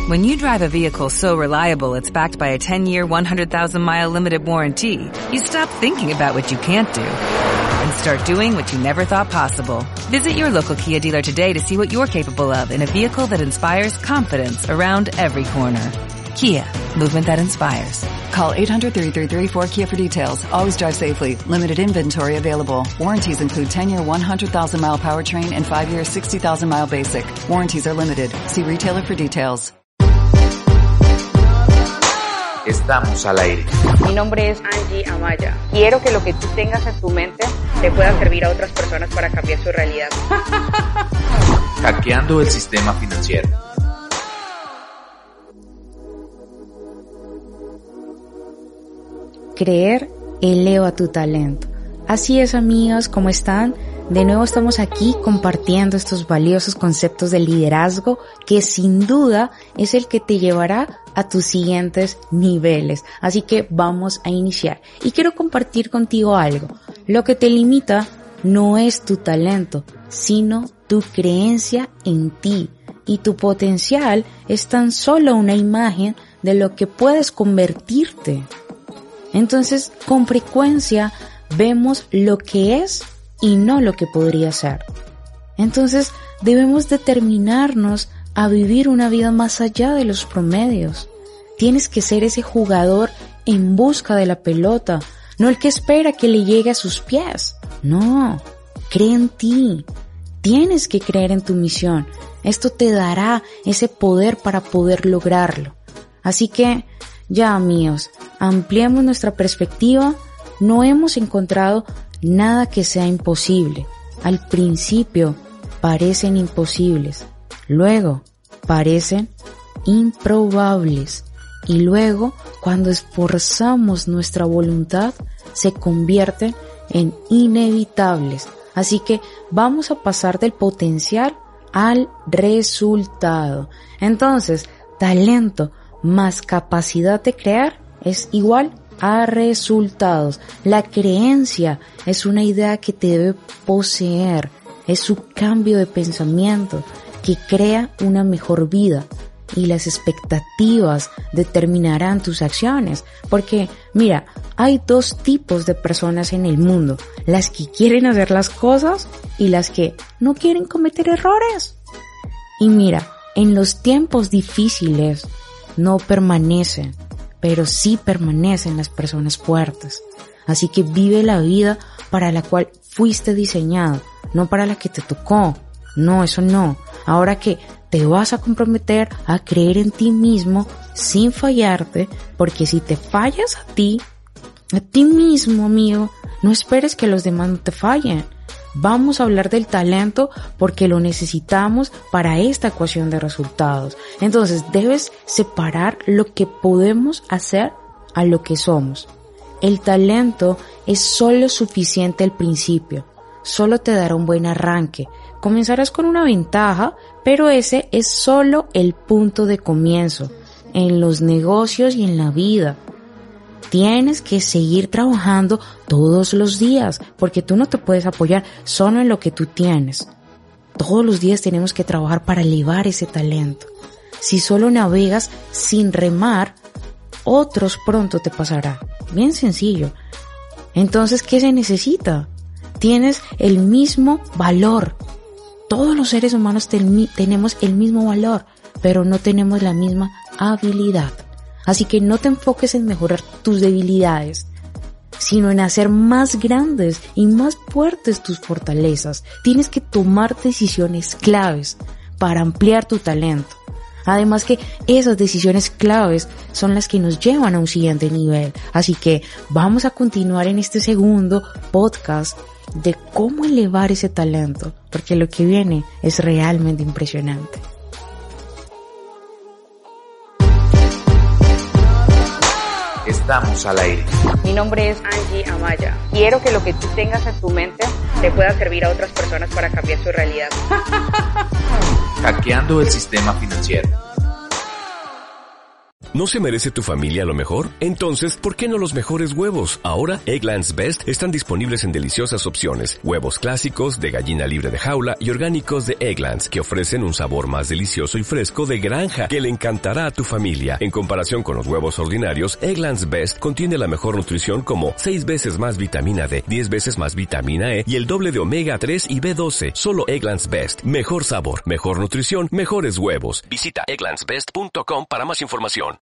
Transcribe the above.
When you drive a vehicle so reliable it's backed by a 10-year, 100,000-mile limited warranty, you stop thinking about what you can't do and start doing what you never thought possible. Visit your local Kia dealer today to see what you're capable of in a vehicle that inspires confidence around every corner. Kia, movement that inspires. Call 800-333-4KIA for details. Always drive safely. Limited inventory available. Warranties include 10-year 100,000-mile powertrain and 5-year 60,000-mile basic. Warranties are limited. See retailer for details. Estamos al aire. Mi nombre es Angie Amaya. Quiero que lo que tú tengas en tu mente te pueda servir a otras personas para cambiar su realidad. Hackeando el sistema financiero. Creer eleva tu talento. Así es, amigos, ¿cómo están? De nuevo estamos aquí compartiendo estos valiosos conceptos de liderazgo que sin duda es el que te llevará a tus siguientes niveles. Así que vamos a iniciar. Y quiero compartir contigo algo. Lo que te limita no es tu talento, sino tu creencia en ti. Y tu potencial es tan solo una imagen de lo que puedes convertirte. Entonces, con frecuencia vemos lo que es y no lo que podría ser. Entonces, debemos determinarnos a vivir una vida más allá de los promedios. Tienes que ser ese jugador en busca de la pelota, no el que espera que le llegue a sus pies. No, cree en ti. Tienes que creer en tu misión. Esto te dará ese poder para poder lograrlo. Así que, ya amigos, ampliemos nuestra perspectiva. No hemos encontrado nada que sea imposible. Al principio parecen imposibles, luego parecen improbables y luego, cuando esforzamos nuestra voluntad, se convierten en inevitables. Así que vamos a pasar del potencial al resultado. Entonces, talento más capacidad de crear es igual a resultados. La creencia es una idea que te debe poseer, es su cambio de pensamiento que crea una mejor vida y las expectativas determinarán tus acciones. Porque, mira, hay dos tipos de personas en el mundo, las que quieren hacer las cosas y las que no quieren cometer errores. Y mira, en los tiempos difíciles no permanecen, pero sí permanecen las personas fuertes. Así que vive la vida para la cual fuiste diseñado, no para la que te tocó. No, eso no. Ahora que te vas a comprometer a creer en ti mismo sin fallarte, porque si te fallas a ti mismo, amigo, no esperes que los demás no te fallen. Vamos a hablar del talento porque lo necesitamos para esta ecuación de resultados. Entonces, debes separar lo que podemos hacer a lo que somos. El talento es solo suficiente al principio. Solo te dará un buen arranque. Comenzarás con una ventaja, pero ese es solo el punto de comienzo. En los negocios y en la vida. Tienes que seguir trabajando todos los días, porque tú no te puedes apoyar solo en lo que tú tienes. Todos los días tenemos que trabajar para elevar ese talento. Si solo navegas sin remar, otros pronto te pasará. Bien sencillo. Entonces, ¿qué se necesita? Tienes el mismo valor. Todos los seres humanos tenemos el mismo valor, pero no tenemos la misma habilidad. Así que no te enfoques en mejorar tus debilidades, sino en hacer más grandes y más fuertes tus fortalezas. Tienes que tomar decisiones claves para ampliar tu talento. Además que esas decisiones claves son las que nos llevan a un siguiente nivel. Así que vamos a continuar en este segundo podcast de cómo elevar ese talento, porque lo que viene es realmente impresionante. Estamos al aire. Mi nombre es Angie Amaya. Quiero que lo que tú tengas en tu mente te pueda servir a otras personas para cambiar su realidad. Hackeando el sistema financiero. ¿No se merece tu familia lo mejor? Entonces, ¿por qué no los mejores huevos? Ahora, Eggland's Best están disponibles en deliciosas opciones. Huevos clásicos, de gallina libre de jaula y orgánicos de Eggland's, que ofrecen un sabor más delicioso y fresco de granja que le encantará a tu familia. En comparación con los huevos ordinarios, Eggland's Best contiene la mejor nutrición como 6 veces más vitamina D, 10 veces más vitamina E y el doble de omega 3 y B12. Solo Eggland's Best. Mejor sabor, mejor nutrición, mejores huevos. Visita egglandsbest.com para más información.